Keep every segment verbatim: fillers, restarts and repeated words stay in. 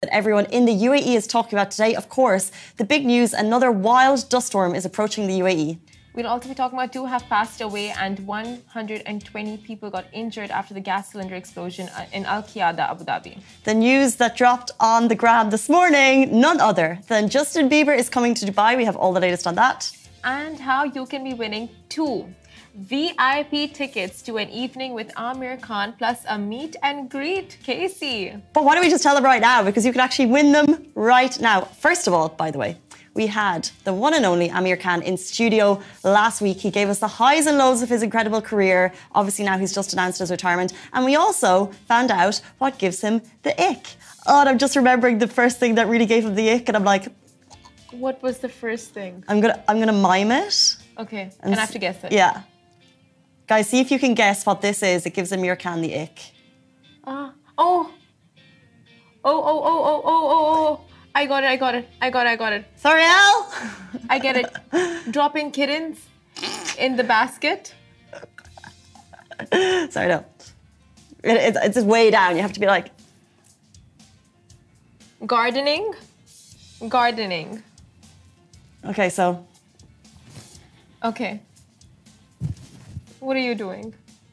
that everyone in the U A E is talking about today. Of course, the big news, another wild dust storm is approaching the U A E. We'll also be talking about two have passed away and one hundred twenty people got injured after the gas cylinder explosion in Al Qiyada, Abu Dhabi. The news that dropped on the gram this morning, none other than Justin Bieber is coming to Dubai. We have all the latest on that. And how you can be winning two V I P tickets to an evening with Amir Khan plus a meet and greet, Casey. But why don't we just tell them right now? Because you can actually win them right now. First of all, by the way, we had the one and only Amir Khan in studio last week. He gave us the highs and lows of his incredible career. Obviously now he's just announced his retirement. And we also found out what gives him the ick. Oh, and I'm just remembering the first thing that really gave him the ick. And I'm like... What was the first thing? I'm gonna, I'm gonna mime it. Okay, and, and I have to guess it. Yeah. Guys, see if you can guess what this is. It gives Amir Khan the ick. Uh, oh. Oh, oh, oh, oh, oh, oh, oh. I got it, I got it, I got it, I got it. Sorry, Al? I get it. Dropping kittens in the basket. Sorry, no. It, it, it's just way down. You have to be like... Gardening. Gardening. Okay, so... Okay. What are you doing?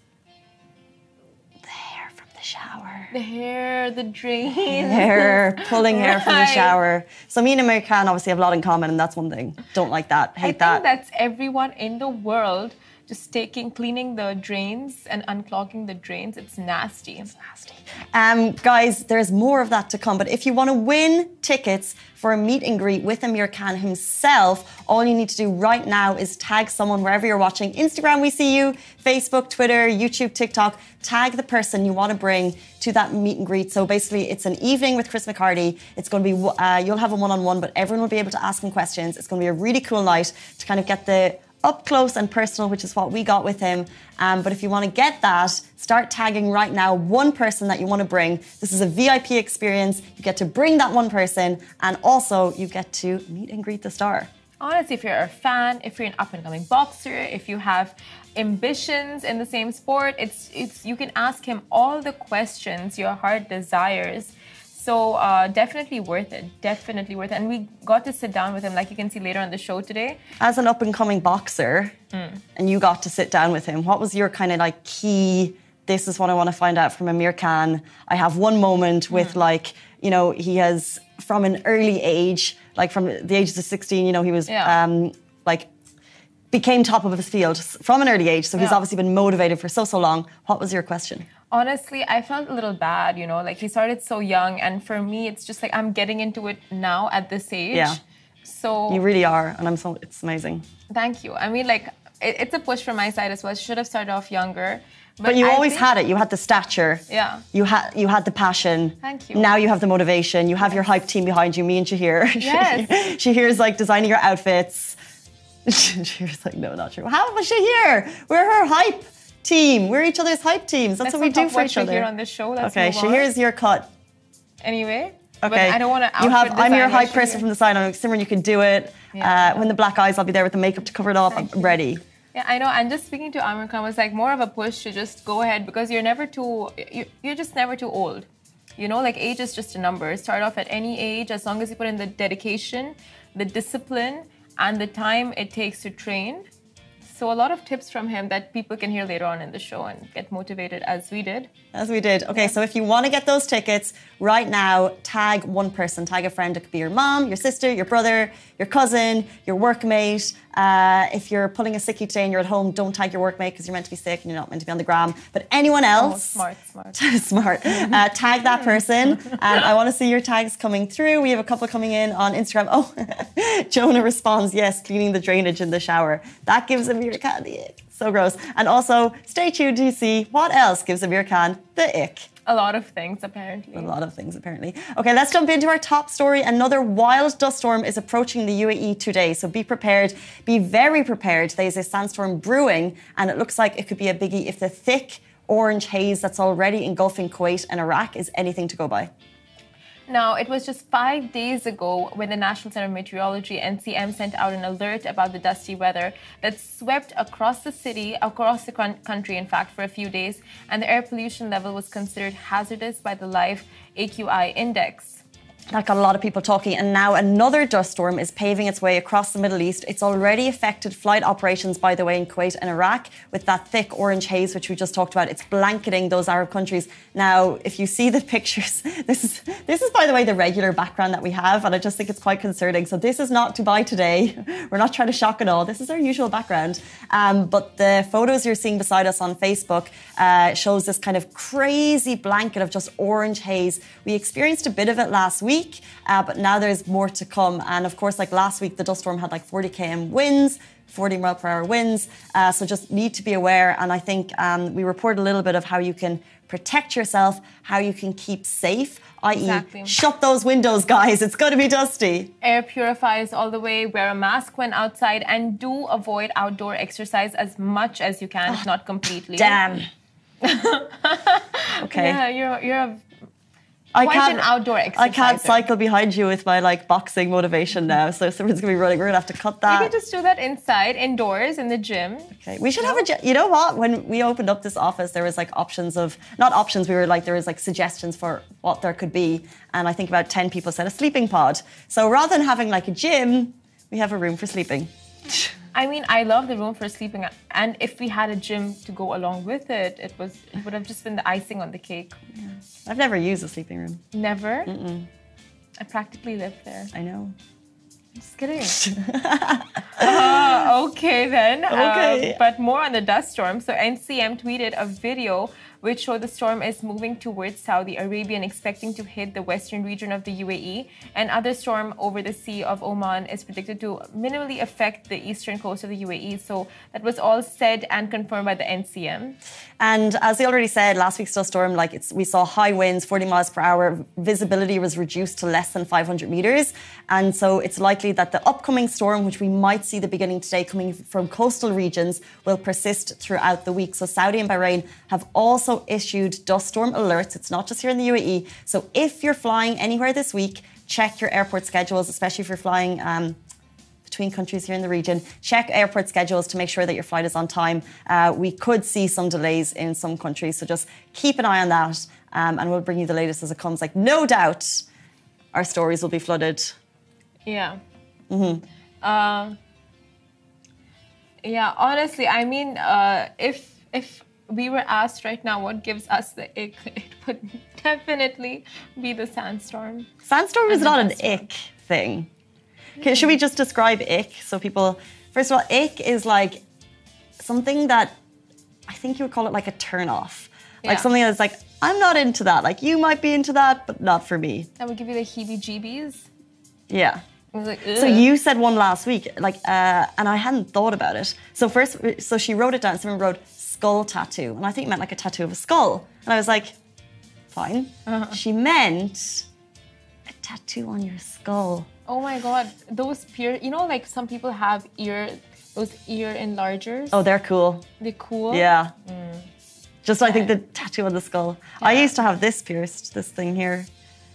The hair from the shower. The hair, the drain. Hair, pulling hair right. from the shower. So me and Amir Khan obviously have a lot in common, and that's one thing. Don't like that, hate I that. I think that's everyone in the world just taking, cleaning the drains and unclogging the drains. It's nasty. It's nasty. Um, guys, there's more of that to come. But if you want to win tickets for a meet and greet with Amir Khan himself, all you need to do right now is tag someone wherever you're watching. Instagram, we see you. Facebook, Twitter, YouTube, TikTok. Tag the person you want to bring to that meet and greet. So basically, it's an evening with Chris McCarty. It's going to be, uh, you'll have a one-on-one, but everyone will be able to ask him questions. It's going to be a really cool night to kind of get the up close and personal, which is what we got with him. Um, but if you want to get that, start tagging right now one person that you want to bring. This is a V I P experience. You get to bring that one person, and also you get to meet and greet the star. Honestly, if you're a fan, if you're an up-and-coming boxer, if you have ambitions in the same sport, it's it's you can ask him all the questions your heart desires. So uh, definitely worth it, definitely worth it. And we got to sit down with him, like you can see later on the show today. As an up-and-coming boxer, mm. and you got to sit down with him, what was your kind of like key, this is what I want to find out from Amir Khan. I have one moment with mm. like, you know, he has, from an early age, like from the ages of sixteen, you know, he was yeah. um, like, became top of his field from an early age. So he's yeah. obviously been motivated for so, so long. What was your question? Honestly, I felt a little bad, you know, like he started so young. And for me, it's just like I'm getting into it now at this age. Yeah. So you really are. And I'm so, it's amazing. Thank you. I mean, like, it, it's a push from my side as well. I should have started off younger. But, but you I always think, had it. You had the stature. Yeah. You had you had the passion. Thank you. Now you have the motivation. You have yes. your hype team behind you, me and Shahir. Yes. Shahir's like designing your outfits. Shahir's like, no, not true. How was Shahir? We're her hype team. We're each other's hype teams. That's Let's what we do for each other. Here on this show. Let's okay, Shahir's your cut. Anyway. Okay. But I don't want to. You have. I'm your hype person from the side. I'm like, Simran, you can do it. Yeah. Uh, when the black eyes, I'll be there with the makeup to cover it up. Thank I'm you. ready. Yeah, I know. And just speaking to Amir Khan was like more of a push to just go ahead because you're never too. You're just never too old. You know, like age is just a number. Start off at any age as long as you put in the dedication, the discipline, and the time it takes to train. So a lot of tips from him that people can hear later on in the show and get motivated as we did. As we did. Okay, yeah. So if you want to get those tickets right now, tag one person. Tag a friend. It could be your mom, your sister, your brother, your cousin, your workmate. Uh, if you're pulling a sickie today and you're at home, don't tag your workmate because you're meant to be sick and you're not meant to be on the gram. But anyone else... Oh, smart, smart. smart. Uh, tag that person. And I want to see your tags coming through. We have a couple coming in on Instagram. Oh, Jonah responds, yes, cleaning the drainage in the shower. That gives him Amir Khan the ick. So gross. And also, stay tuned to see what else gives Amir Khan the ick. A lot of things, apparently. A lot of things, apparently. Okay, let's jump into our top story. Another wild dust storm is approaching the U A E today, so be prepared. Be very prepared. There's a sandstorm brewing, and it looks like it could be a biggie if the thick orange haze that's already engulfing Kuwait and Iraq is anything to go by. Now, it was just five days ago when the National Center of Meteorology, N C M, sent out an alert about the dusty weather that swept across the city, across the country, in fact, for a few days. And the air pollution level was considered hazardous by the Live A Q I index. That got a lot of people talking, and now another dust storm is paving its way across the Middle East. It's already affected flight operations, by the way, in Kuwait and Iraq with that thick orange haze, which we just talked about. It's blanketing those Arab countries. Now, if you see the pictures, this is, this is, by the way, the regular background that we have, and I just think it's quite concerning. So this is not Dubai today. We're not trying to shock at all. This is our usual background. Um, but the photos you're seeing beside us on Facebook uh, shows this kind of crazy blanket of just orange haze. We experienced a bit of it last week. Week, uh, but now there's more to come. And of course, like last week, the dust storm had like forty kilometers winds, forty mile per hour winds. Uh, so just need to be aware. And I think um, we report a little bit of how you can protect yourself, how you can keep safe, that is exactly. Shut those windows, guys. It's going to be dusty. Air purifiers all the way. Wear a mask when outside, and do avoid outdoor exercise as much as you can, oh, if not completely. Damn. Okay. Yeah, you're you're a I Quite can't, an outdoor exerciser. I can't cycle behind you with my like boxing motivation now. So someone's gonna be running. We're gonna have to cut that. You can just do that inside, indoors, in the gym. Okay. We should have a gym. You know what? When we opened up this office, there was like options of not options. We were like there was like suggestions for what there could be, and I think about ten people said a sleeping pod. So rather than having like a gym, we have a room for sleeping. I mean, I love the room for sleeping, and if we had a gym to go along with it, it was it would have just been the icing on the cake. Yeah. I've never used a sleeping room. Never? Mm-mm. I practically lived there. I know. I'm just kidding. uh, okay then. Okay. Um, but more on the dust storm. So N C M tweeted a video which showed the storm is moving towards Saudi Arabia and expecting to hit the western region of the U A E. And other storm over the Sea of Oman is predicted to minimally affect the eastern coast of the U A E. So that was all said and confirmed by the N C M. And as they already said, last week's dust storm, like it's, we saw high winds, forty miles per hour. Visibility was reduced to less than five hundred meters. And so it's likely that the upcoming storm, which we might see the beginning today coming from coastal regions, will persist throughout the week. So Saudi and Bahrain have also issued dust storm alerts. It's not just here in the U A E. So if you're flying anywhere this week, check your airport schedules, especially if you're flying um, between countries here in the region. Check airport schedules to make sure that your flight is on time. Uh, we could see some delays in some countries, so just keep an eye on that, um, and we'll bring you the latest as it comes. Like, no doubt, our stories will be flooded. Yeah. Mm-hmm. Uh, yeah, honestly, I mean, uh, if if we were asked right now what gives us the ick, it would definitely be the sandstorm. Sandstorm is not an ick thing. Okay, should we just describe ick so people... First of all, ick is like something that I think you would call it like a turn-off. Yeah. Like something that's like, I'm not into that. Like, you might be into that, but not for me. That would give you the heebie-jeebies? Yeah. I was like, so you said one last week, like, uh, and I hadn't thought about it. So first, so she wrote it down. Someone wrote skull tattoo, and I think it meant like a tattoo of a skull. And I was like, fine. Uh-huh. She meant a tattoo on your skull. Oh my God, those peer, you know, like some people have ear, those ear enlargers. Oh, they're cool. They're cool? Yeah. Mm. Just, I think the tattoo on the skull. Yeah. I used to have this pierced, this thing here.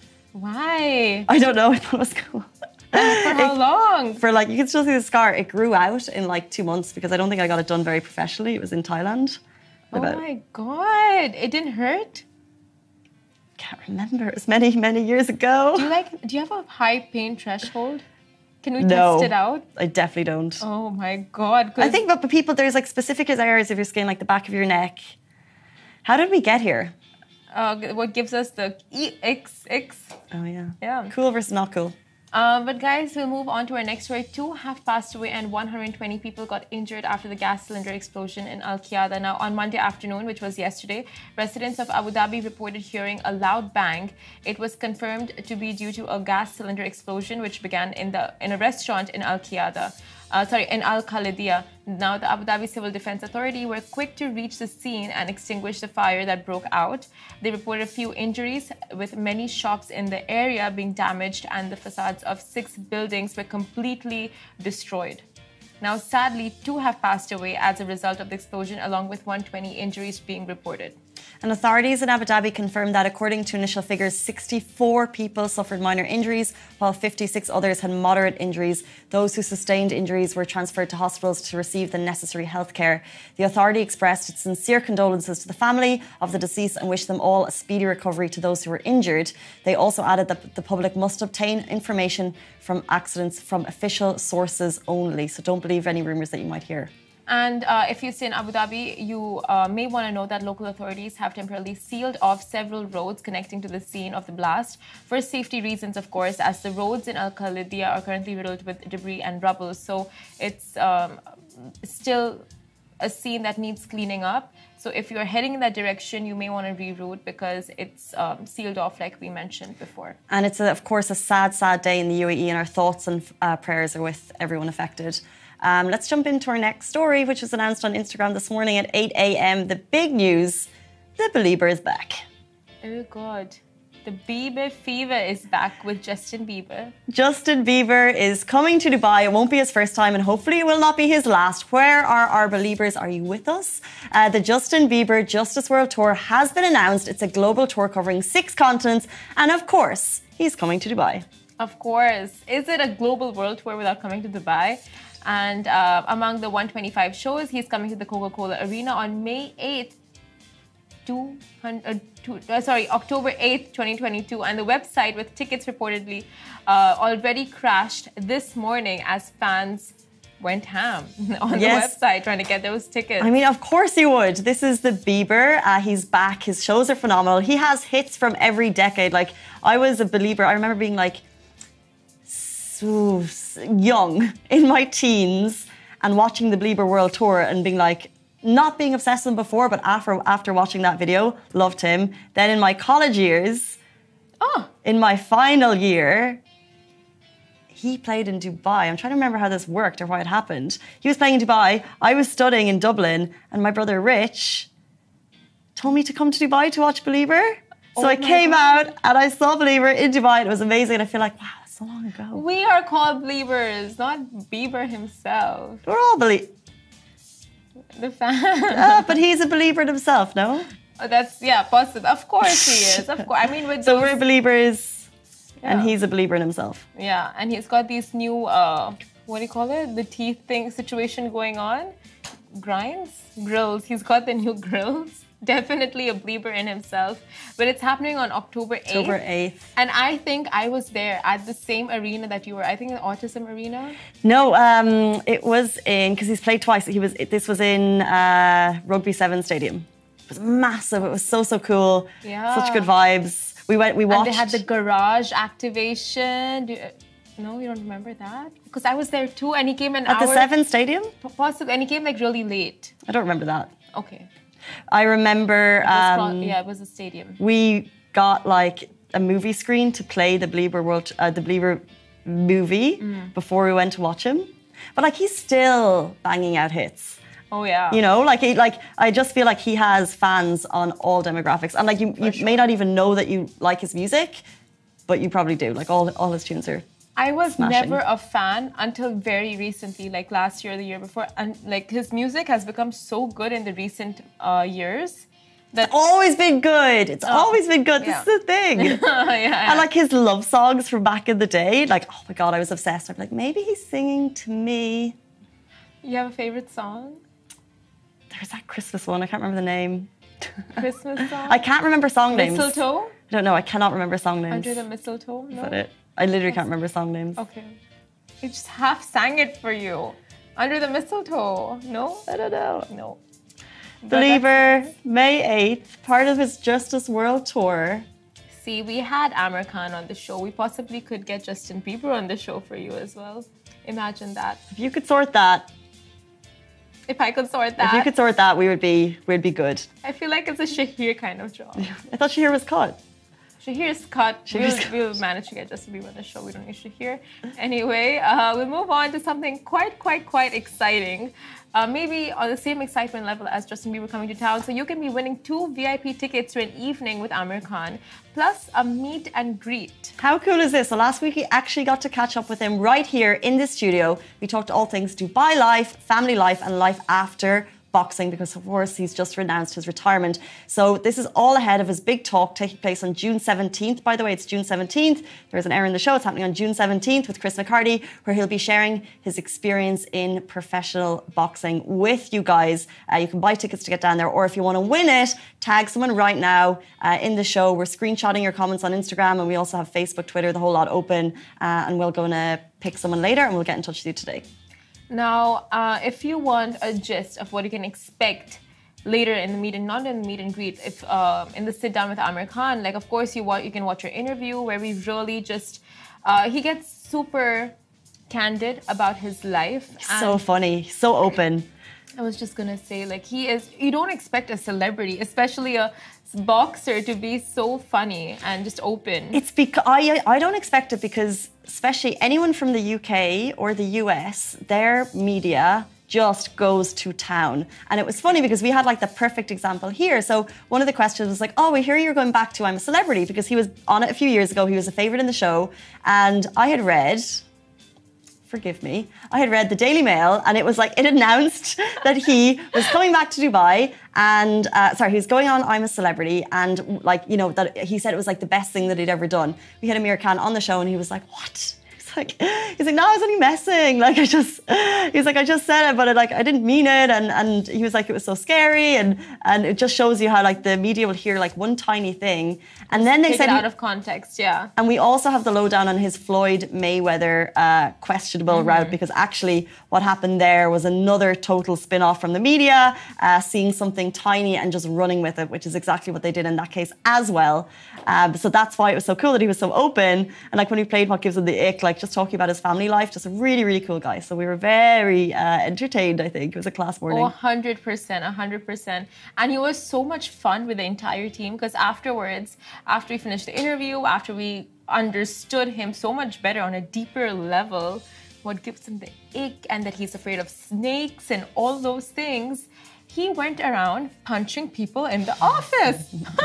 Why? I don't know, I thought it was cool. For how it, long? For like, you can still see the scar. It grew out in like two months because I don't think I got it done very professionally. It was in Thailand. Oh About, my God, it didn't hurt? Can't remember. It was many, many years ago. Do you like? Do you have a high pain threshold? Can we no, test it out? I definitely don't. Oh my God! I think, but people, there's like specific areas of your skin, like the back of your neck. How did we get here? Uh, what gives us the E X X? Oh yeah. Yeah. Cool versus not cool. Um, but guys, we'll move on to our next story. Two have passed away and one hundred twenty people got injured after the gas cylinder explosion in Al Qiyada. Now, on Monday afternoon, which was yesterday, residents of Abu Dhabi reported hearing a loud bang. It was confirmed to be due to a gas cylinder explosion, which began in the in a restaurant in Al Qiyada. Uh, sorry, in Al Khalidia. Now, the Abu Dhabi Civil Defense Authority were quick to reach the scene and extinguish the fire that broke out. They reported a few injuries, with many shops in the area being damaged and the facades of six buildings were completely destroyed. Now, sadly, two have passed away as a result of the explosion, along with one hundred twenty injuries being reported. And authorities in Abu Dhabi confirmed that, according to initial figures, sixty-four people suffered minor injuries, while fifty-six others had moderate injuries. Those who sustained injuries were transferred to hospitals to receive the necessary health care. The authority expressed its sincere condolences to the family of the deceased and wished them all a speedy recovery to those who were injured. They also added that the public must obtain information from accidents from official sources only. So don't believe any rumours that you might hear. And uh, if you stay in Abu Dhabi, you uh, may want to know that local authorities have temporarily sealed off several roads connecting to the scene of the blast for safety reasons, of course, as the roads in Al Khalidia are currently riddled with debris and rubble. So it's um, still a scene that needs cleaning up. So if you're heading in that direction, you may want to reroute because it's um, sealed off, like we mentioned before. And it's, a, of course, a sad, sad day in the U A E, and our thoughts and uh, prayers are with everyone affected. Um, let's jump into our next story, which was announced on Instagram this morning at eight a.m. The big news, the Belieber is back. Oh, God. The Bieber fever is back with Justin Bieber. Justin Bieber is coming to Dubai. It won't be his first time, and hopefully it will not be his last. Where are our believers? Are you with us? Uh, the Justin Bieber Justice World Tour has been announced. It's a global tour covering six continents, and of course, he's coming to Dubai. Of course. Is it a global world tour without coming to Dubai? And uh, among the one hundred twenty-five shows, he's coming to the Coca-Cola Arena on May eighth. two hundred, uh, two, uh, sorry, October eighth, twenty twenty-two, and the website with tickets reportedly uh, already crashed this morning as fans went ham on yes. the website trying to get those tickets. I mean, of course you would. This is the Bieber. Uh, he's back. His shows are phenomenal. He has hits from every decade. Like, I was a believer. I remember being like so young in my teens and watching the Bieber World Tour and being like, not being obsessed with him before, but after after watching that video, loved him. Then in my college years, oh. in my final year, he played in Dubai. I'm trying to remember how this worked or why it happened. He was playing in Dubai. I was studying in Dublin, and my brother Rich told me to come to Dubai to watch Belieber. So oh I came God. out and I saw Belieber in Dubai, and it was amazing. And I feel like, wow, that's so long ago. We are called Beliebers, not Bieber himself. We're all believers. The fan. uh, but he's a believer in himself, no? Oh, that's, yeah, possible. Of course he is. Of course. I mean, with So those... we're believers, yeah. and he's a believer in himself. Yeah, and he's got these new, uh, what do you call it? The teeth thing situation going on. Grinds? Grills. He's got the new grills. Definitely a believer in himself. But it's happening on October eighth. October eighth. And I think I was there at the same arena that you were. I think the Autism Arena. No, um, it was in, because he's played twice. He was. This was in uh, Rugby Seven Stadium. It was massive. It was so, so cool. Yeah. Such good vibes. We went, we watched. And they had the garage activation. Do you, no, you don't remember that? Because I was there too, and he came an At hour. the Seven Stadium? Possibly, and he came like really late. I don't remember that. Okay. I remember. Um, probably, yeah, it was a stadium. We got like a movie screen to play the Belieber World, uh, the Belieber movie mm. before we went to watch him. But like, he's still banging out hits. Oh yeah. You know, like he, like I just feel like he has fans on all demographics, and like you, you sure. may not even know that you like his music, but you probably do. Like all, all his tunes are. I was smashing. never a fan until very recently, like last year or the year before. And like his music has become so good in the recent uh, years. That it's always been good. It's oh, always been good. Yeah. This is the thing. yeah, yeah. And like his love songs from back in the day, like, oh my God, I was obsessed. I'm like, maybe he's singing to me. You have a favorite song? There's that Christmas one. I can't remember the name. Christmas song? I can't remember song names. Mistletoe? I don't know. I cannot remember song names. Under the Mistletoe? No? Is that it? I literally can't remember song names. Okay. I just half sang it for you. Under the Mistletoe. No? I don't know. No. Belieber, May eighth, part of his Justice World Tour. See, we had Amir Khan on the show. We possibly could get Justin Bieber on the show for you as well. Imagine that. If you could sort that. If I could sort that. If you could sort that, we would be we'd be good. I feel like it's a Shahir kind of job. I thought Shahir was cut. Shahir's cut. Shahir's we'll, cut. we'll manage to get Justin Bieber on the show. We don't need Shahir. Anyway, uh, we'll move on to something quite, quite, quite exciting. Uh, maybe on the same excitement level as Justin Bieber coming to town. So you can be winning two V I P tickets to an evening with Amir Khan, plus a meet and greet. How cool is this? So last week we actually got to catch up with him right here in the studio. We talked all things Dubai life, family life, and life after boxing because, of course, he's just renounced his retirement. So this is all ahead of his big talk taking place on June seventeenth. By the way, it's June seventeenth. There's an error in the show. It's happening on June seventeenth with Chris McCarty, where he'll be sharing his experience in professional boxing with you guys. Uh, you can buy tickets to get down there, or if you want to win it, tag someone right now uh, in the show. We're screenshotting your comments on Instagram, and we also have Facebook, Twitter, the whole lot open, uh, and we're going to pick someone later, and we'll get in touch with you today. Now, uh, if you want a gist of what you can expect later in the meet and not in the meet and greet, if uh, in the sit down with Aamir Khan, like of course you want you can watch your interview where we really just uh, he gets super candid about his life. So funny, so open. I was just gonna say, like he is. You don't expect a celebrity, especially a boxer, to be so funny and just open. It's because I I don't expect it because especially anyone from the U K or the U S, their media just goes to town. And it was funny because we had like the perfect example here. So one of the questions was like, oh, we hear you're going back to I'm a Celebrity, because he was on it a few years ago. He was a favourite in the show. And I had read, forgive me, I had read the Daily Mail, and it was like, it announced that he was coming back to Dubai and, uh, sorry, he was going on I'm a Celebrity, and like, you know, that he said it was like the best thing that he'd ever done. We had Aamir Khan on the show and he was like, what? Like, he's like, no, I was only messing. Like, I just, he's like, I just said it, but it, like, I didn't mean it. And and he was like, it was so scary. And and it just shows you how, like, the media will hear, like, one tiny thing. And then they Take said... it out of context, yeah. And we also have the lowdown on his Floyd Mayweather uh, questionable mm-hmm. route, because actually what happened there was another total spin-off from the media, uh, seeing something tiny and just running with it, which is exactly what they did in that case as well. Um, so that's why it was so cool that he was so open. And, like, when we played What Gives Him the Ick, like, just talking about his family life, just a really, really cool guy. So we were very uh, entertained, I think. It was a class morning. Oh, one hundred percent, one hundred percent. And he was so much fun with the entire team, because afterwards, after we finished the interview, after we understood him so much better on a deeper level, what gives him the ick and that he's afraid of snakes and all those things, he went around punching people in the office.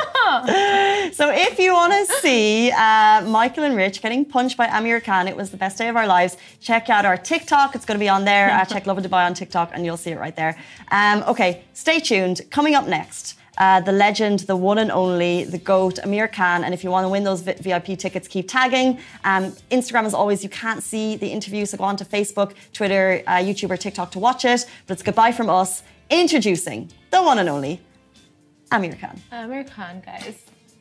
So if you want to see uh, Michael and Rich getting punched by Aamir Khan, it was the best day of our lives. Check out our TikTok. It's going to be on there. Uh, check Lovin Dubai on TikTok and you'll see it right there. Um, okay, stay tuned. Coming up next, uh, the legend, the one and only, the GOAT, Aamir Khan. And if you want to win those V I P tickets, keep tagging. Um, Instagram, as always, you can't see the interview, so go on to Facebook, Twitter, uh, YouTube or TikTok to watch it. But it's goodbye from us. Introducing the one and only Aamir Khan. Aamir Khan, guys.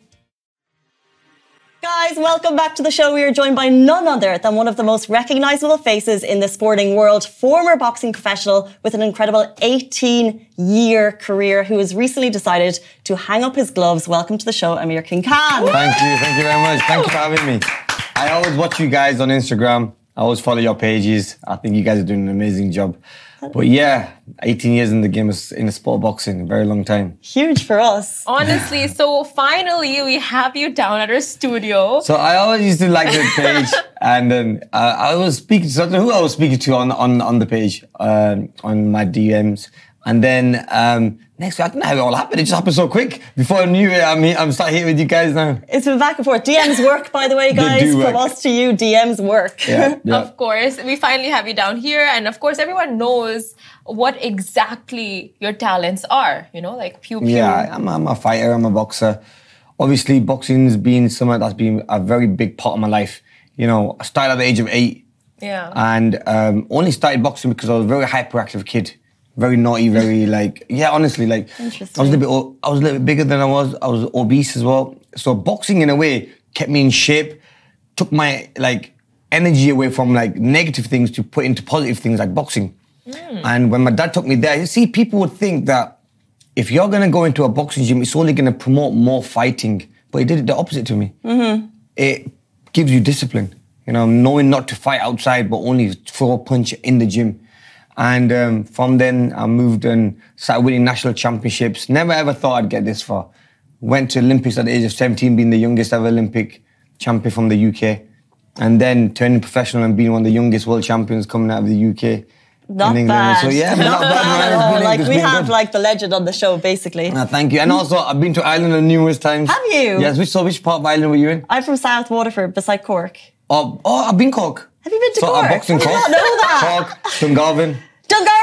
Guys, welcome back to the show. We are joined by none other than one of the most recognisable faces in the sporting world, former boxing professional with an incredible eighteen-year career, who has recently decided to hang up his gloves. Welcome to the show, Aamir King Khan. Thank you, thank you very much. Thank you for having me. I always watch you guys on Instagram. I always follow your pages. I think you guys are doing an amazing job. But yeah, eighteen years in the game, in the sport of boxing, a very long time. Huge for us. Honestly, so finally we have you down at our studio. So I always used to like the page, and then uh, I was speaking to, I don't know who I was speaking to on, on, on the page, um, on my D Ms. And then um, next week, I don't know how it all happened. It just happened so quick. Before I knew it, I'm, here, I'm starting here with you guys now. It's been back and forth. D Ms work, by the way, guys. They do work. From us to you, D Ms work. Yeah, yeah. Of course. We finally have you down here. And of course, everyone knows what exactly your talents are. You know, like pew pew. Yeah, I'm, I'm a fighter. I'm a boxer. Obviously, boxing's been something that's been a very big part of my life. You know, I started at the age of eight. Yeah. And um, only started boxing because I was a very hyperactive kid. Very naughty, very like, yeah, honestly, like, I was a little bit, I was a little bit bigger than I was. I was obese as well. So boxing, in a way, kept me in shape, took my, like, energy away from, like, negative things to put into positive things like boxing. Mm. And when my dad took me there, you see, people would think that if you're going to go into a boxing gym, it's only going to promote more fighting. But it did the opposite to me. Mm-hmm. It gives you discipline, you know, knowing not to fight outside, but only throw a punch in the gym. And um, from then, I moved and started winning national championships. Never ever thought I'd get this far. Went to Olympics at the age of seventeen, being the youngest ever Olympic champion from the U K. And then turning professional and being one of the youngest world champions coming out of the U K. Not bad. So yeah, not bad. At all. Like, we have good. like the legend on the show, basically. Uh, thank you. And also, I've been to Ireland numerous times. Have you? Yes. Which, so which part of Ireland were you in? I'm from South Waterford, beside Cork. Oh, oh I've been Cork. Have you been to so Cork? I boxed in I did Cork. not know that. Cork, Dungarvan. Dungarvan is where I'm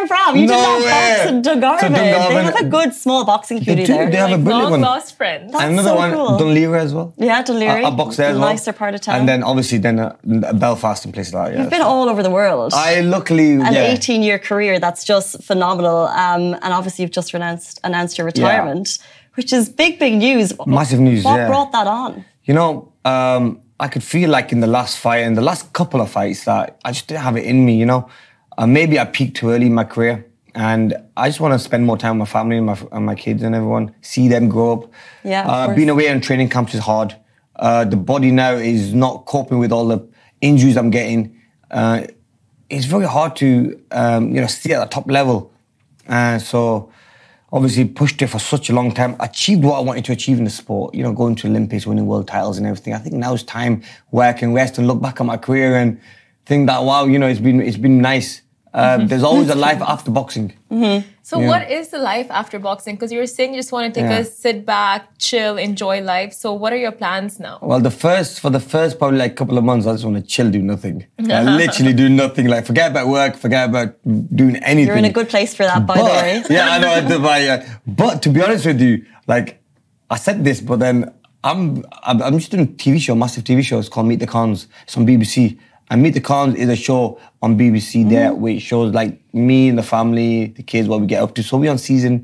from? You No did not way. box in Dungarvan. So Dungarvan- They have a good small boxing community do, there. they have a Like brilliant long one. lost friends. That's And another so one, cool. Dunleary as well. Yeah, Dunleary. I, I boxed there as well. Nicer part of town. And then obviously then uh, Belfast and places like that. Yeah. You've been all over the world. I luckily, An yeah. eighteen-year career that's just phenomenal. Um, and obviously you've just announced, announced your retirement, which is big, big news. Massive news, What yeah. brought that on? You know, um, I could feel like in the last fight and the last couple of fights that I just didn't have it in me, you know. Uh, maybe I peaked too early in my career and I just want to spend more time with my family and my, and my kids and everyone, see them grow up. Yeah, of uh, course. being away on training camps is hard. Uh, the body now is not coping with all the injuries I'm getting. Uh, it's very hard to, um, you know, stay at the top level. Uh, so obviously pushed it for such a long time, achieved what I wanted to achieve in the sport, you know, going to Olympics, winning world titles and everything. I think now is time where I can rest and look back at my career and think that, wow, you know, it's been it's been nice. Um, Mm-hmm. There's always a life after boxing. Mm-hmm. So Yeah. what is the life after boxing? Because you were saying you just want to take Yeah. a sit back, chill, enjoy life. So what are your plans now? Well, the first, for the first probably like couple of months, I just want to chill, do nothing. I literally do nothing. Like forget about work, forget about doing anything. You're in a good place for that, by the But- way. Yeah, I know. I do, but, yeah. But to be honest with you, like I said this, but then I'm I'm, I'm just doing a T V show, massive T V show. It's called Meet the Cons. It's on B B C. And Meet the Cons is a show on B B C there, which shows like me and the family, the kids, what we get up to. So we're on season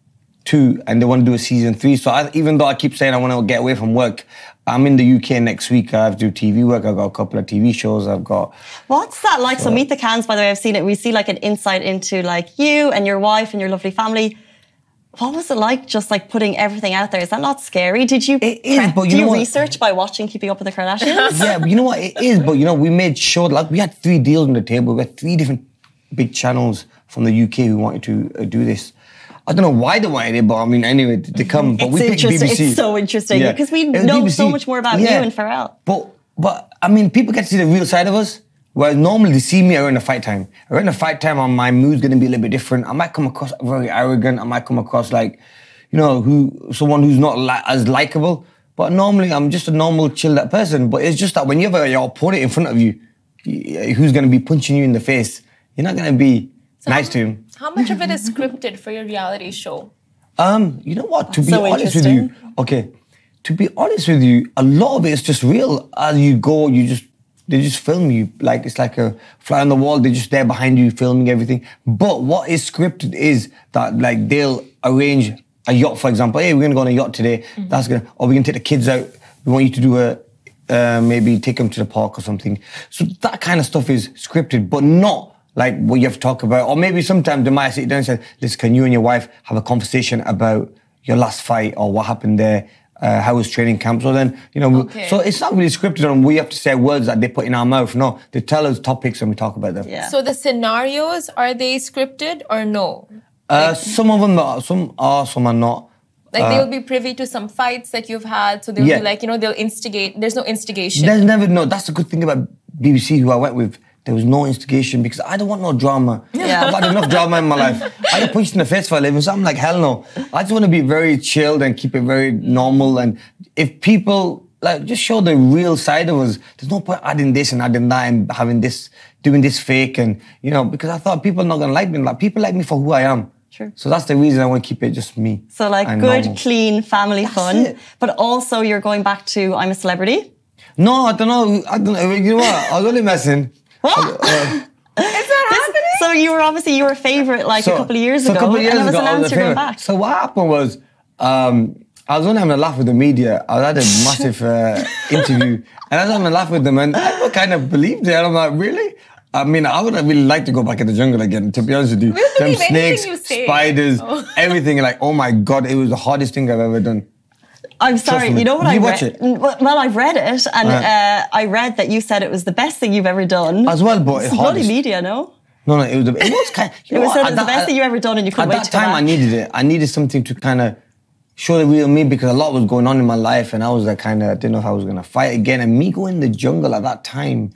two, and they want to do a season three. So I, even though I keep saying I want to get away from work, I'm in the U K next week. I have to do T V work. I've got a couple of T V shows. I've got. What's that like? So Meet the Cans, by the way, I've seen it. We see like an insight into like you and your wife and your lovely family. What was it like just like putting everything out there? Is that not scary? Did you It is, prep- but you do know you what? research by watching Keeping Up with the Kardashians? Yeah, but you know what? It is, but you know, we made sure, like, we had three deals on the table. We had three different big channels from the U K who wanted to uh, do this. I don't know why they wanted it, but I mean, anyway, they come. But It's we picked B B interesting. C. It's so interesting Yeah. because we It was know B B C. so much more about Yeah. you and Pharrell. But, but I mean, people get to see the real side of us. Whereas normally they see me around the fight time. Around the fight time, my mood's going to be a little bit different. I might come across very arrogant. I might come across like, you know, who someone who's not li- as likable. But normally I'm just a normal, chilled out person. But it's just that when you have your opponent in front of you, y- who's going to be punching you in the face, you're not going to be nice to him. How much of it is scripted for your reality show? Um, you know what? To be so honest with you, okay. To be honest with you, a lot of it is just real. As you go, you just they just film you like it's like a fly on the wall. They're just there behind you, filming everything. But what is scripted is that like they'll arrange a yacht, for example. Hey, we're gonna go on a yacht today. Mm-hmm. That's gonna, or we're gonna take the kids out. We want you to do a uh, maybe take them to the park or something. So that kind of stuff is scripted, but not like what you have to talk about. Or maybe sometimes they might sit down and say, listen, can you and your wife have a conversation about your last fight or what happened there? Uh, how was training camp? So then, you know, we- Okay. so it's not really scripted and we have to say words that they put in our mouth. No, they tell us topics and we talk about them. Yeah. So the scenarios, are they scripted or no? Uh, some of them are, some are, some are not. Like they'll be privy to some fights that you've had, so they'll Yeah. be like, you know, they'll instigate. There's no instigation. There's never, no, that's the good thing about B B C who I went with. There was no instigation because I don't want no drama. Yeah. I've had enough drama in my life. I get punched in the face for a living, so I'm like, hell no. I just want to be very chilled and keep it very normal. And if people, like, just show the real side of us, there's no point adding this and adding that and having this, doing this fake and, you know, because I thought people are not going to like me. Like, people like me for who I am. True. So that's the reason I want to keep it just me. So like and good, normal. clean family fun, it. but also you're going back to I'm a Celebrity. No, I don't know. I don't know. You know what? I was only messing. What? Uh, Is that happening? So you were obviously you were a favorite like a couple of years so ago, a couple of years and it was ago, I announced a you're going favourite. back. So what happened was, um, I was only having a laugh with the media. I had a massive uh, interview, and I was having a laugh with them, and I kind of believed it. And I'm like, really? I mean, I would really like to go back in the jungle again, to be honest with you. We'll Them believe anything snakes, you say. spiders, Oh. everything. Like, oh my God, it was the hardest thing I've ever done. I'm sorry, me. you know what Did I you read? watch it? Well, well, I've read it, and Right. uh, I read that you said it was the best thing you've ever done. As well, but it's it's bloody hardest. media, no? No, no, it was, the- it was kind It was said it was the best thing you've ever done, and you couldn't At wait that to go time, I back. needed it. I needed something to kind of show the real me because a lot was going on in my life, and I was like, kind of didn't know if I was going to fight again. And me going in the jungle at that time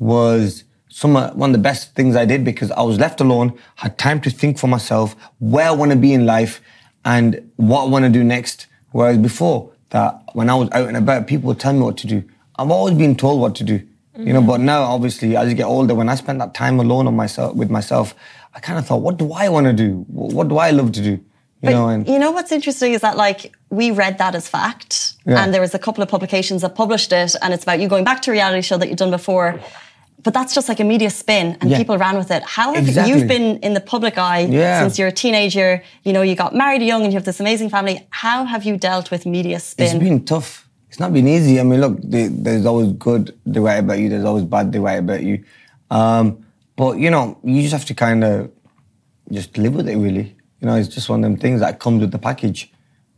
was some uh, one of the best things I did because I was left alone, had time to think for myself where I want to be in life and what I want to do next. Whereas before that, when I was out and about, people would tell me what to do. I've always been told what to do. You know, but now obviously as you get older, when I spend that time alone on myself with myself, I kind of thought, what do I want to do? What do I love to do? You but know, and you know what's interesting is that like we read that as fact, Yeah. and there was a couple of publications that published it, and it's about you going back to a reality show that you've done before. But that's just like a media spin, and Yeah. people ran with it. How have Exactly. you've been in the public eye Yeah. since you're a teenager? You know, you got married young, and you have this amazing family. How have you dealt with media spin? it's been tough. It's not been easy. I mean, look, there- there's always good they write about you. There's always bad they write about you. Um, but, you know, you just have to kind of just live with it, really. You know, it's just one of them things that comes with the package.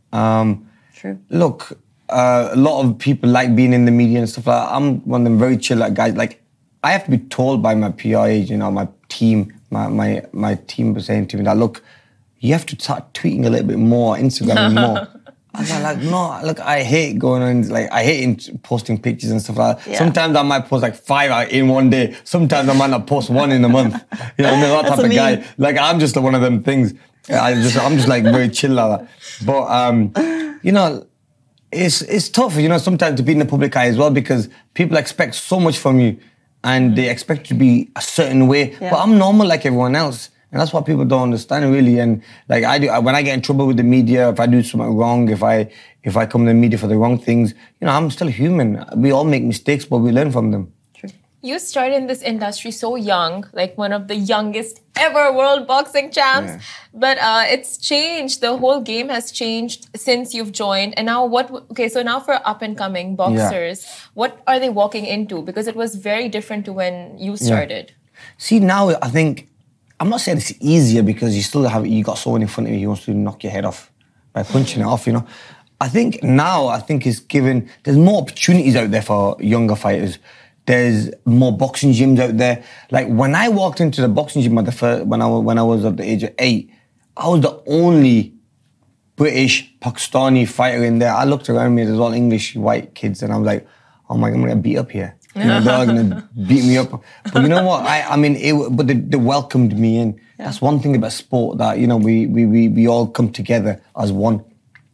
Um, True. Look, uh, a lot of people like being in the media and stuff like that. I'm one of them very chill like guys. Like, I have to be told by my P R agent, you know, my team, my, my, my team was saying to me that, look, you have to start tweeting a little bit more, Instagram more. I was like, no, look, I hate going on, like, I hate in- posting pictures and stuff like that. Yeah. Sometimes I might post like five out in one day. Sometimes I might not post one in a month. You know, I'm that That's type of a guy. meme. Like, I'm just one of them things. I just, I'm just like very chill like that. But, um, you know, it's it's tough, you know, sometimes to be in the public eye as well, because people expect so much from you and they expect you to be a certain way. Yeah. But I'm normal like everyone else. And that's what people don't understand, really. And like I do, when I get in trouble with the media, if I do something wrong, if I if I come to the media for the wrong things, you know, I'm still human. We all make mistakes, but we learn from them. You started in this industry so young, like one of the youngest ever world boxing champs. Yeah. But uh, it's changed. The whole game has changed since you've joined. And now what, okay, so now for up and coming boxers, what are they walking into? Because it was very different to when you started. See, now I think, I'm not saying it's easier because you still have, you got someone in front of you who wants to knock your head off by punching it off, you know. I think now, I think it's given, there's more opportunities out there for younger fighters. There's more boxing gyms out there. Like when I walked into the boxing gym at the first, when I was, when I was at the age of eight, I was the only British, Pakistani fighter in there. I looked around me, there's all English white kids, and I was like, oh my God, I'm gonna get beat up here. You know, they're all gonna beat me up. But you know what? I, I mean, it, but they, they welcomed me in. Yeah. That's one thing about sport, that, you know, we we we, we all come together as one.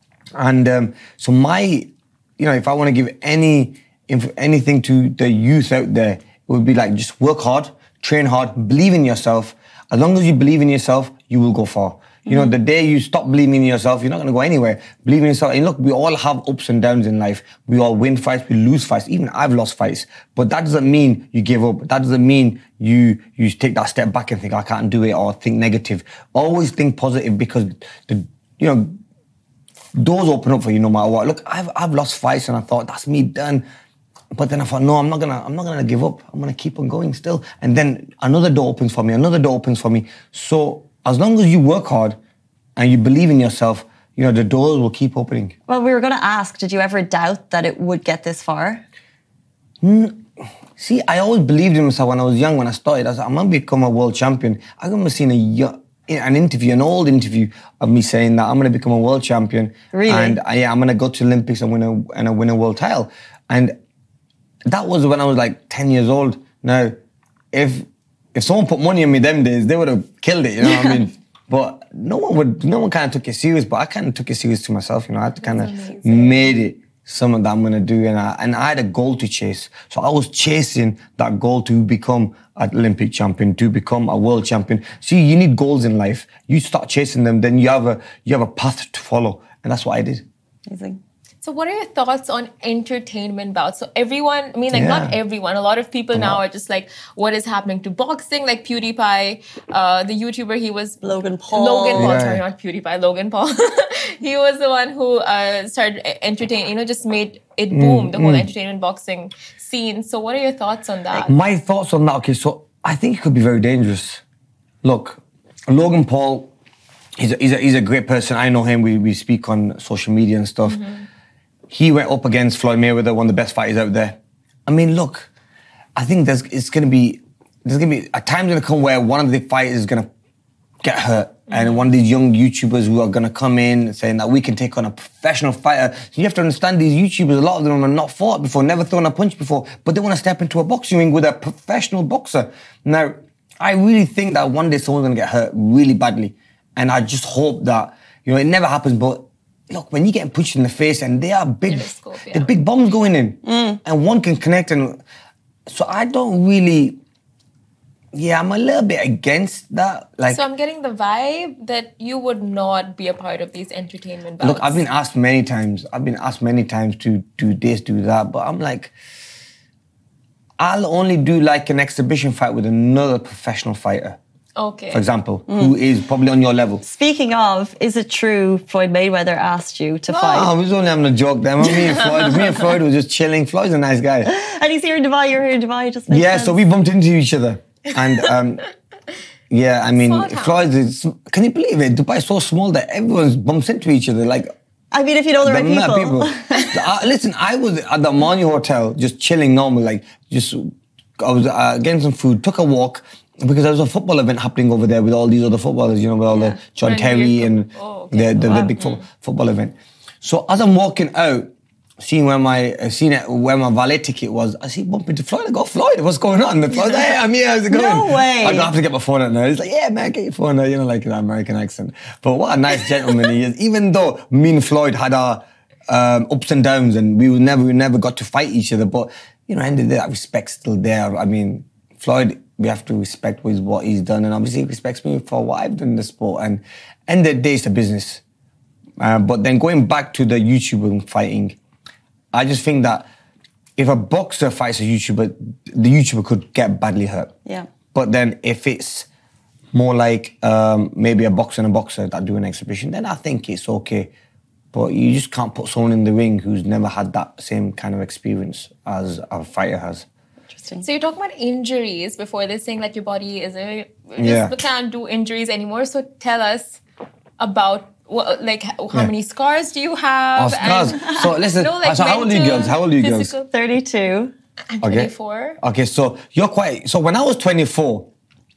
And um, so my, you know, if I want to give any if anything to the youth out there, it would be like, just work hard, train hard, believe in yourself. As long as you believe in yourself, you will go far. You know, the day you stop believing in yourself, you're not going to go anywhere. Believe in yourself. And look, we all have ups and downs in life. We all win fights, we lose fights. Even I've lost fights. But that doesn't mean you give up. That doesn't mean you you take that step back and think, I can't do it, or think negative. Always think positive, because, the you know, doors open up for you no matter what. Look, I've I've lost fights and I thought, that's me done. But then I thought, no, I'm not gonna, I'm not gonna give up. I'm gonna keep on going still. And then another door opens for me, another door opens for me. So as long as you work hard and you believe in yourself, you know, the doors will keep opening. Well, we were going to ask, did you ever doubt that it would get this far? See, I always believed in myself when I was young. When I started, I was like, I'm gonna become a world champion. I remember seeing a yo- an interview, an old interview of me saying that I'm gonna become a world champion. Really? And I, yeah, I'm gonna go to the Olympics and win a and I win a world title. And that was when I was like ten years old. Now, if if someone put money on me them days, they would have killed it. You know what I mean? But no one would. No one kind of took it serious. But I kind of took it serious to myself. You know, I kind of made it something that I'm gonna do, and I and I had a goal to chase. So I was chasing that goal to become an Olympic champion, to become a world champion. See, you need goals in life. You start chasing them, then you have a you have a path to follow, and that's what I did. Amazing. So what are your thoughts on entertainment bouts? So everyone, I mean, like Yeah. not everyone, a lot of people now are just like, what is happening to boxing? Like PewDiePie, uh, the YouTuber, he was... Logan Paul. Logan Paul, Yeah. sorry, not PewDiePie, Logan Paul. He was the one who uh, started entertaining, you know, just made it boom, the whole entertainment boxing scene. So what are your thoughts on that? My thoughts on that, okay, so I think it could be very dangerous. Look, Logan Paul, he's a, he's a, he's a great person. I know him, we, we speak on social media and stuff. Mm-hmm. He went up against Floyd Mayweather, one of the best fighters out there. I mean, look, I think there's it's gonna be there's gonna be a time's gonna come where one of the fighters is gonna get hurt, mm-hmm. and one of these young YouTubers who are gonna come in saying that we can take on a professional fighter. So you have to understand, these YouTubers, a lot of them have not fought before, never thrown a punch before, but they want to step into a boxing ring with a professional boxer. Now, I really think that one day someone's gonna get hurt really badly, and I just hope that, you know, it never happens, but. Look, when you get pushed in the face and they are big, Interscope, yeah. the big bombs going in, and one can connect, and so I don't really, yeah, I'm a little bit against that. Like, so I'm getting the vibe that you would not be a part of these entertainment bouts. Look, I've been asked many times. I've been asked many times to do this, do that, but I'm like, I'll only do like an exhibition fight with another professional fighter. Okay. For example, mm. who is probably on your level. Speaking of, is it true Floyd Mayweather asked you to no, fight? No, I was only having a joke there. Me and Floyd, me and Floyd were just chilling. Floyd's a nice guy. And he's here in Dubai, you're here in Dubai. Just makes yeah, sense. so we bumped into each other. And um, yeah, I mean, Floyd is, can you believe it? Dubai is so small that everyone bumps into each other. Like, I mean, if you know the, the right people. people. uh, listen, I was at the Armani Hotel just chilling normal, like just, I was uh, getting some food, took a walk, because there was a football event happening over there with all these other footballers, you know, with all yeah. the John Friend Terry and oh, okay. the, the, wow. the big fo- mm. football event. So as I'm walking out, seeing where my uh, seeing it, where my valet ticket was, I see bump into Floyd. I go, Floyd, what's going on? The Floyd's like, hey, I'm here, how's it going? No way. I have to get my phone out now. He's like, yeah, man, get your phone out, you know, like an American accent. But what a nice gentleman he is. Even though me and Floyd had our um, ups and downs and we never we never got to fight each other, but, you know, end of the day, that respect's still there. I mean, Floyd, we have to respect what he's done, and obviously he respects me for what I've done in the sport. And end of the day, it's a business. Uh, but then going back to the YouTuber fighting, I just think that if a boxer fights a YouTuber, the YouTuber could get badly hurt. Yeah. But then if it's more like um, maybe a boxer and a boxer that do an exhibition, then I think it's okay. But you just can't put someone in the ring who's never had that same kind of experience as a fighter has. So you're talking about injuries before this, saying like your body is a, yeah. just can't do injuries anymore. So tell us about what, like how yeah. many scars do you have? Oh, scars. And, so listen, no, like so how old are you girls? How old are you girls? thirty-two. I'm okay. twenty-four. Okay, so you're quite, so when I was twenty-four,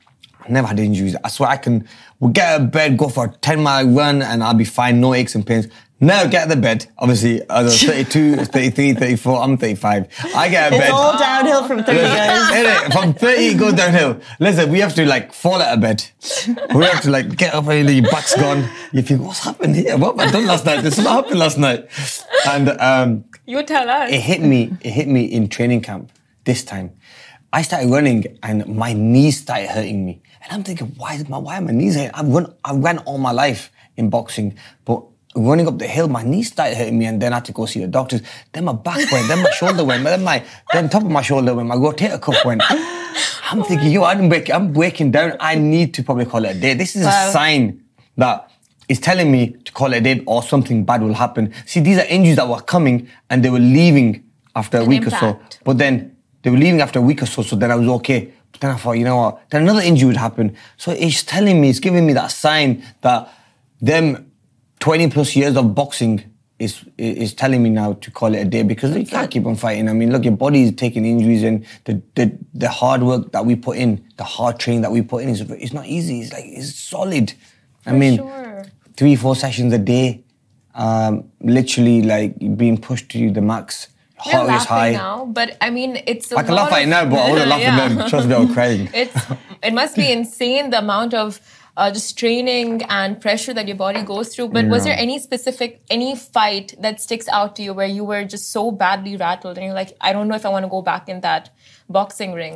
I never had injuries. I swear I can, we'll get out of bed, go for a ten mile run and I'll be fine, no aches and pains. Now get out of bed. Obviously, I was thirty-two, thirty-three, thirty-four, I'm thirty-five. I get out of it's bed. It's all downhill from thirty, guys. From thirty, it goes downhill. Listen, we have to like fall out of bed. We have to like get up and your back's gone. You think, what's happened here? What have I done last night? This is what happened last night. And um, you tell us. It hit me, it hit me in training camp this time. I started running and my knees started hurting me. And I'm thinking, why is my, why are my knees hurting? I've run, I've ran all my life in boxing, but running up the hill, my knees started hurting me and then I had to go see the doctors. Then my back went, then my shoulder went, then my, then top of my shoulder went, my rotator cuff went. I'm thinking, yo, I'm breaking, I'm breaking down. I need to probably call it a day. This is wow. a sign that is telling me to call it a day or something bad will happen. See, these are injuries that were coming and they were leaving after a An week impact. or so. But then they were leaving after a week or so, so then I was okay. But then I thought, you know what, then another injury would happen. So it's telling me, it's giving me that sign that them twenty plus years of boxing is is telling me now to call it a day because you can't keep on fighting. I mean, look, your body is taking injuries and the, the the hard work that we put in, the hard training that we put in is it's not easy. It's like it's solid. For I mean, sure. three, four sessions a day, um, literally like being pushed to the max. You're Heart laughing is high. now, but I mean, it's a I can lot laugh at it of, now, but I would have laughed yeah. at them. Trust me, I was crying. It's it must be insane the amount of Uh, just training and pressure that your body goes through. But yeah. was there any specific, any fight that sticks out to you where you were just so badly rattled and you're like, I don't know if I want to go back in that boxing ring?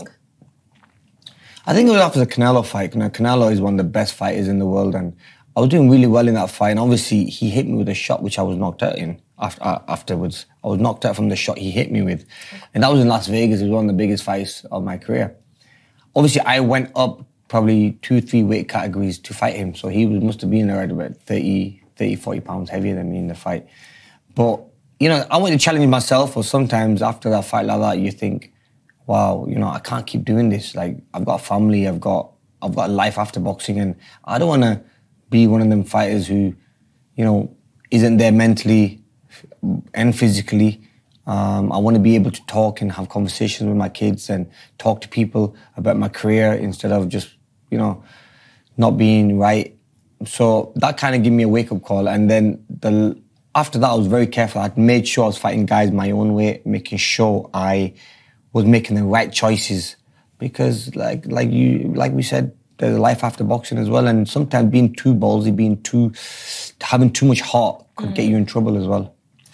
I think it was after the Canelo fight. You know, Canelo is one of the best fighters in the world and I was doing really well in that fight. And obviously, he hit me with a shot which I was knocked out in after, uh, afterwards. I was knocked out from the shot he hit me with. And that was in Las Vegas. It was one of the biggest fights of my career. Obviously, I went up probably two, three weight categories to fight him. So he was, must have been around about thirty, thirty, forty pounds heavier than me in the fight. But, you know, I want to challenge myself, or sometimes after that fight like that, you think, wow, you know, I can't keep doing this. Like, I've got a family, I've got, I've got a life after boxing, and I don't want to be one of them fighters who, you know, isn't there mentally and physically. Um, I want to be able to talk and have conversations with my kids and talk to people about my career instead of just, you know, not being right. So that kind of gave me a wake-up call. And then the after that, I was very careful. I made sure I was fighting guys my own way, making sure I was making the right choices. Because like like you like we said, there's a life after boxing as well. And sometimes being too ballsy, being too having too much heart could mm. get you in trouble as well.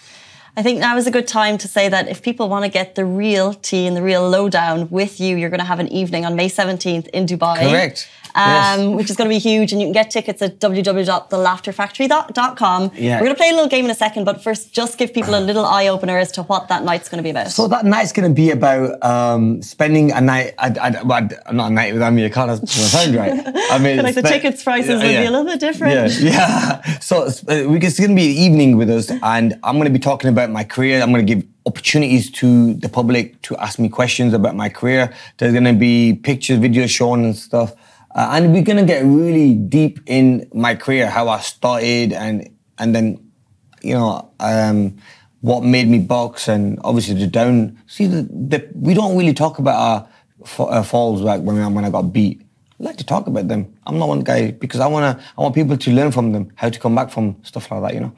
I think now is a good time to say that if people want to get the real tea and the real lowdown with you, you're going to have an evening on May seventeenth in Dubai. Correct. Um, yes. Which is going to be huge, and you can get tickets at w w w dot the laughter factory dot com. Yeah. We're going to play a little game in a second, but first, just give people a little eye opener as to what that night's going to be about. So that night's going to be about um, spending a night. I, I, well, not a night with Amir Khan. That doesn't sound right. I mean, like the spe- tickets prices yeah, would yeah. be a little bit different. Yeah, yeah. So uh, we- it's going to be an evening with us, and I'm going to be talking about my career. I'm going to give opportunities to the public to ask me questions about my career. There's going to be pictures, videos shown and stuff. Uh, and we're going to get really deep in my career, how I started and and then, you know, um, what made me box and obviously the down. See, the, the, we don't really talk about our, fa- our falls like when I, when I got beat. I like to talk about them. I'm not one guy because I want to. I want people to learn from them, how to come back from stuff like that, you know.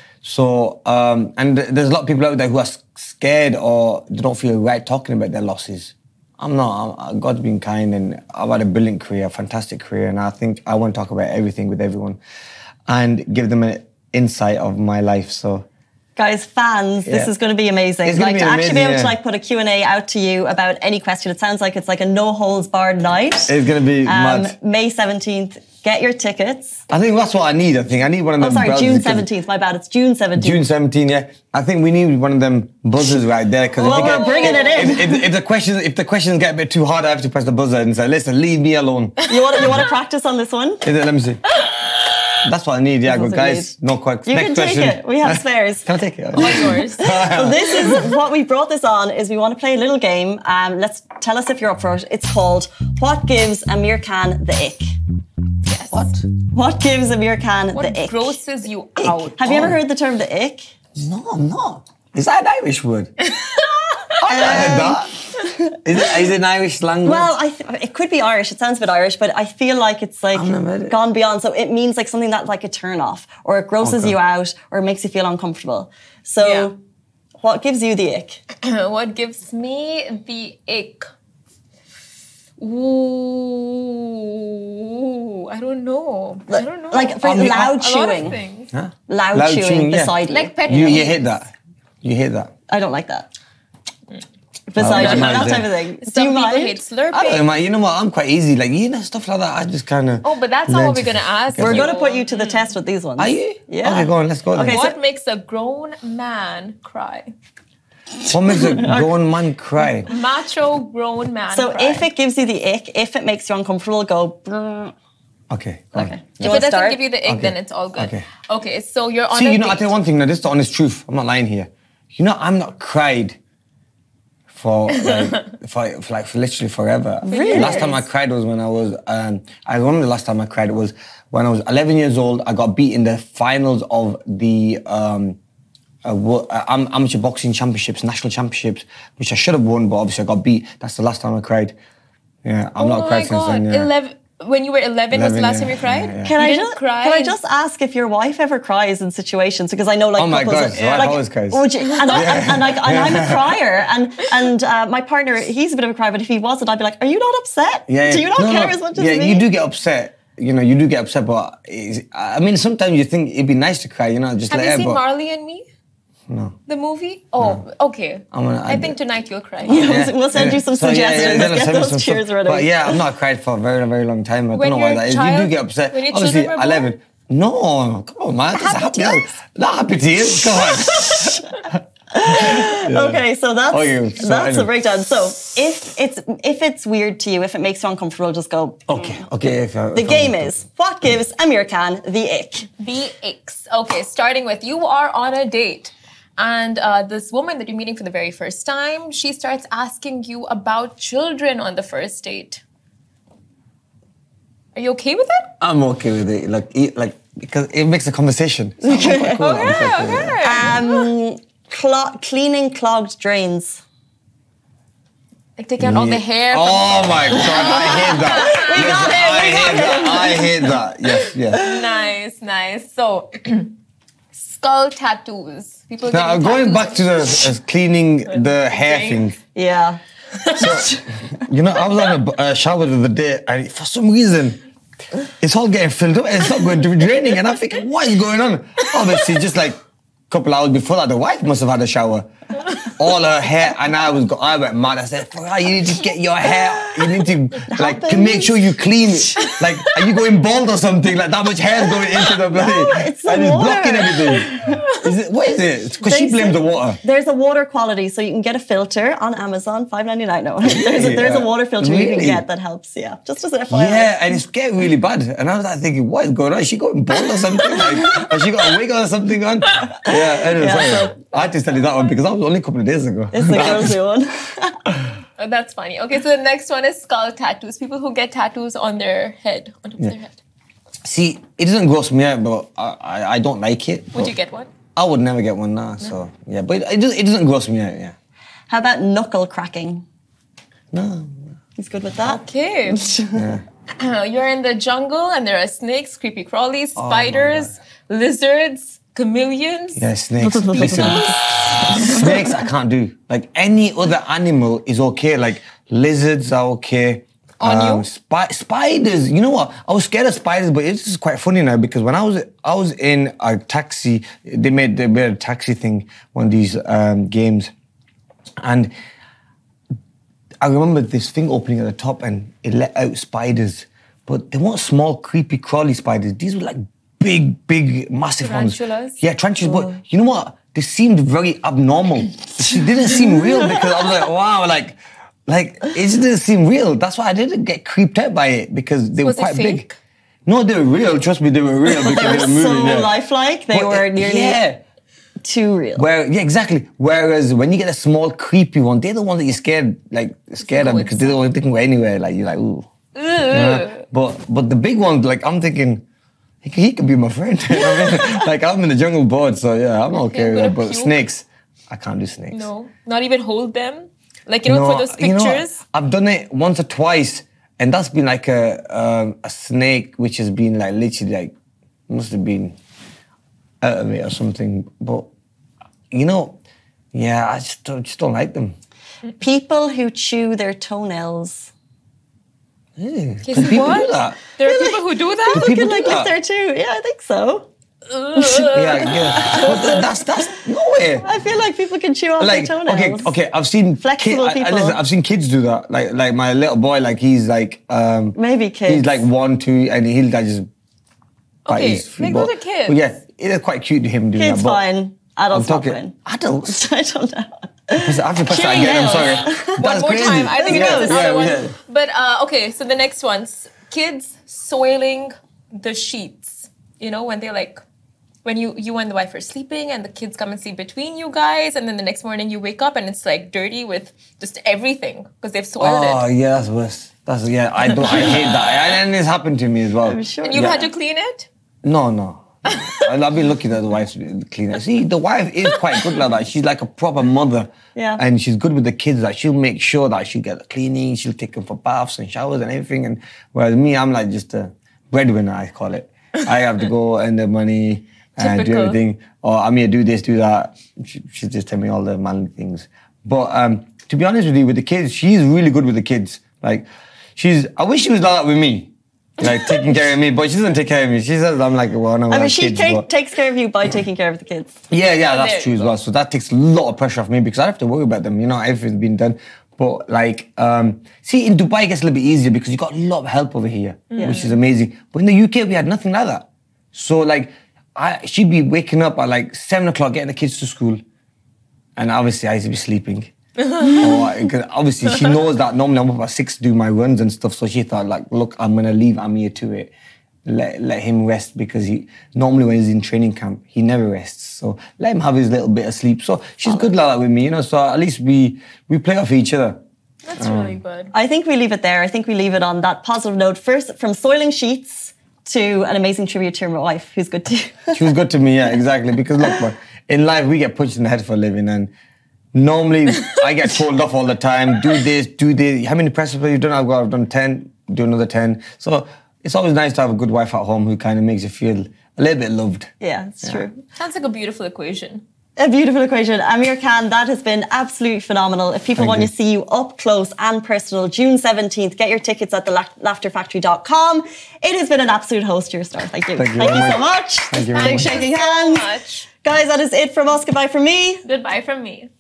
So, um, and th- there's a lot of people out there who are scared or they don't feel right talking about their losses. I'm not. I'm, God's been kind, and I've had a brilliant career, a fantastic career, and I think I want to talk about everything with everyone, and give them an insight of my life. So, guys, fans, this Yeah. is going to be amazing. It's gonna like be to actually amazing, be able yeah. to like put a Q and A out to you about any question. It sounds like it's like a no holds barred night. it's gonna be Um, mad. May seventeenth. Get your tickets. I think that's what I need. I think I need one of Oh, them. sorry, browsers June because- seventeenth. My bad. It's June seventeenth. June seventeenth, yeah. I think we need one of them buzzers right there. Cause Well, if, we're bringing it in. If, if, if the questions, if the questions get a bit too hard, I have to press the buzzer and say, "Listen, leave me alone." You want to, you want to practice on this one? Is it- Let me see. That's what I need. Yeah, That's good what you guys. No questions. You Next can take question. it. We have spares. Can I take it? Yours. So this is what we brought this on. Is we want to play a little game. Um, let's tell us if you're up for it. It's called "What Gives Amir Khan the Ick." Yes. What? What gives Amir Khan What the ick? grosses you out? Have you ever Oh. heard the term the ick? No, I'm not. Is that an Irish word? I've not heard that. Is it, is it an Irish language? Well, I th- it could be Irish. It sounds a bit Irish, but I feel like it's like I've never heard it. gone beyond. So it means like something that's like a turn off, or it grosses Okay. you out, or it makes you feel uncomfortable. So, Yeah. what gives you the ick? What gives me the ick? Ooh, I don't know. I don't know. Like for I mean, loud a lot chewing, of things. Huh? loud, Loud chewing, chewing, yeah. beside you. Like pet you, you peeves. hit that. You hit that. I don't like that. Beside I you, mind that it. type of thing. Do Some you people mind? hate slurping. I don't mind. You know what? I'm quite easy. Like, you know, stuff like that. I just kind of. Oh, but that's not what we're gonna ask. We're you. going to put you to the test with these ones. Are you? Yeah. Okay, go on. Let's go then. Okay, so- What makes a grown man cry? What makes a grown man cry? Macho grown man. So cry. if it gives you the ick, if it makes you uncomfortable, go. "Brr." Okay. Go on. Okay. Do you if it want to doesn't start? give you the ick, Okay. then it's all good. Okay. Okay, so you're on See, a you know, I date. tell you one thing. Now, this is the honest truth. I'm not lying here. You know, I'm not cried for like for, for like for literally forever. Really? Last time I cried was when I was. Um, I remember the last time I cried was when I was eleven years old. I got beat in the finals of the um, uh, wo- uh, am- amateur boxing championships, national championships, which I should have won, but obviously I got beat. That's the last time I cried. Yeah, I've Oh not my cried since god! then. Yeah. Eleven. When you were eleven, was the eleven, last yeah, time you cried? yeah, yeah. Can you I didn't just cry? can I just ask if your wife ever cries in situations? Because I know like Oh my couples, God, wife like, always cries. would you- and, I, and, and like and I'm a crier, and and uh, my partner, he's a bit of a crier, but if he wasn't, I'd be like, are you not upset? Yeah, Do you not no, care no. as much as yeah, me? you do get upset. You know, you do get upset, but it's, I mean, sometimes you think it'd be nice to cry. You know, just Have let you it. seen But Marley and Me? no. The movie? Oh, okay. I'm gonna- I I- think tonight you'll cry. Yeah. We'll send you some So, yeah, yeah, suggestions. then I'll Get send me those some cheers stuff. ready. But yeah, I've not cried for a very, very long time. I When don't know why you're a that is. You child? do get upset. When your Obviously, children were born? eleven. No, come on, man. That's Happy happy. tears? Not happy tears. Come on. Okay, so that's Okay, so that's the anyway. breakdown. So if it's if it's weird to you, if it makes you uncomfortable, just go. Okay, okay. If I, The if game I, is what gives Amir Khan the ick. The icks. Okay, starting with you are on a date. And uh, this woman that you're meeting for the very first time, she starts asking you about children on the first date. Are you okay with it? I'm okay with it. Like, e- like because it makes a conversation. So I'm quite cool. I'm quite cool with it. Um, clo- cleaning clogged drains. Like taking out all the hair. From Oh my god, I hate that. We Yes, got him, I we got hate that. I hate that. Yes, yes. Nice, nice. So, skull tattoos. People Now, getting going tattoos back on- to the uh, cleaning the hair Drain. thing. Yeah. You know, I was on a uh, shower the other day, and for some reason, it's all getting filled up and it's not going to be draining. And I'm thinking, what is going on? Obviously, just like couple hours before that, the wife must have had a shower. All her hair, and I was, go- I went mad. I said, Farah, you need to get your hair, you need to, like, to make sure you clean it. Like, are you going bald or something? Like, that much hair is going into the bloody, No, it's the and it's water. blocking everything. Is it, what is it? Because she They blames say- the water. There's a water quality, so you can get a filter on Amazon, five ninety-nine. No, there's a, there's a Yeah. water filter you Really? can get that helps. Yeah, just as an F Y I. Yeah, and it's getting really bad. And I was like thinking, what is going on? Is she going bald or something? Like, has she got a wig or something on? Yeah, anyway, Yeah, sorry. so- I had to tell you that one because that was only a couple of days ago. It's the girls who one. Oh, that's funny. Okay, so the next one is skull tattoos. People who get tattoos on their head, on top of their head. See, it doesn't gross me out, but I, I, I don't like it. Would but you get one? I would never get one now, so yeah. But it, it, does, it doesn't gross me out, yeah. How about knuckle cracking? No. He's good with that. Okay. You're in the jungle and there are snakes, creepy crawlies, spiders, lizards, chameleons. Yeah, snakes. Listen, snakes I can't do. Like any other animal is okay. Like lizards are okay. On you? Spi- spiders. You know what? I was scared of spiders, but it's just quite funny now because when I was I was in a taxi, they made they made a taxi thing, one of these um, games, and I remember this thing opening at the top and it let out spiders, but they weren't small, creepy, crawly spiders. These were like big, big, massive Tarantulas? ones. Yeah, tarantulas. But you know what? They seemed very abnormal. They didn't seem real because I was like, wow, like, like it just didn't seem real. That's why I didn't get creeped out by it because they Was were it quite fake? big. No, they were real. Trust me, they were real because They they were were moving. so yeah. lifelike. They But, were uh, nearly yeah. too real. Where yeah, exactly. Whereas when you get a small creepy one, they're the ones that you're scared, like scared of No, because they're the ones that can go anywhere. Like you're like, ooh. Ugh. Yeah. But but the big ones, like I'm thinking, he could, he could be my friend. You know what I mean? Like I'm in the jungle bored, so yeah, I'm okay I'm with gonna that. But puke. snakes, I can't do snakes. No, not even hold them. Like you know, for those you know what? pictures. I've done it once or twice, and that's been like a um, a snake which has been like literally like must have been out of it or something. But you know, yeah, I just don't, just don't like them. People who chew their toenails. Yeah. Yes, Can people what? do that? There are people who do that. People people can like do lift that? their too. Yeah, I think so. Yeah, yeah. But th- that's that's no way. I feel like people can chew off Like their okay, toenails. okay. I've seen Flexible kid- I- I- people. listen, I've seen kids do that. Like like my little boy, like he's like um, Maybe kids. He's like one, two, and he'll like just. bite Okay, his feet. make But- those are kids. But yeah, it is quite cute to him doing Kids that. but fine. Adults I'm not talking fine. adults. I don't know. I have to press that Chewing again. I'm nails. sorry. One That's more crazy. time. I think yeah, there's another yeah, one. yeah. But uh, okay, so the next one's kids soiling the sheets. You know, when they're like, when you you and the wife are sleeping and the kids come and sleep between you guys, and then the next morning you wake up and it's like dirty with just everything because they've soiled Oh it. yeah, that's worse. That's yeah. I don't. I hate that. And it's happened to me as well. I'm sure. And you've Yeah. had to clean it? No, no. And I've been looking at the wife's cleaner. See, the wife is quite good like that. She's like a proper mother. Yeah. And she's good with the kids. Like she'll make sure that she get the cleaning, she'll take them for baths and showers and everything. And whereas me, I'm like just a breadwinner, I call it. I have to go earn the money and do Typical. everything. Or I'm here, do this, do that. She, she just tell me all the manly things. But um, to be honest with you, with the kids, she's really good with the kids. Like, she's, I wish she was like that with me. Like taking care of me, but she doesn't take care of me. She says I'm like, well, no, I have mean, she kids, ta- but- takes care of you by taking care of the kids. yeah, yeah, There that's you true as go. well. So that takes a lot of pressure off me because I have to worry about them. You know, everything's been done. But like, um, see, in Dubai it gets a little bit easier because you got a lot of help over here, which is amazing. But in the U K we had nothing like that. So like, I she'd be waking up at like seven o'clock, getting the kids to school, and obviously I used to be sleeping. or, I- 'cause obviously she knows that normally I'm up at six to do my runs and stuff. So she thought like, look, I'm gonna leave Amir to it. Let, let him rest because he normally when he's in training camp he never rests, so let him have his little bit of sleep. So she's good like that with me, you know, so at least we we play off each other. That's really good. I think we leave it there. I think we leave it on that positive note. First, from soiling sheets to an amazing tribute to my wife, who's good to you. She was good to me, yeah, exactly, because look, man, in life we get punched in the head for a living, and normally I get told off all the time, do this, do this. How many press ups have you done? I've got I've done ten, do another ten. So it's always nice to have a good wife at home who kind of makes you feel a little bit loved. Yeah, it's true. Sounds like a beautiful equation. A beautiful equation. Amir Khan, that has been absolutely phenomenal. If people Thank want you. to see you up close and personal, June seventeenth, get your tickets at the laughter factory dot com. It has been an absolute host to your star. Thank you. Thank you Thank very you so much. much. Thank you very Big much. shaking Thank you so hands. much. Guys, that is it from us. Goodbye from me. Goodbye from me.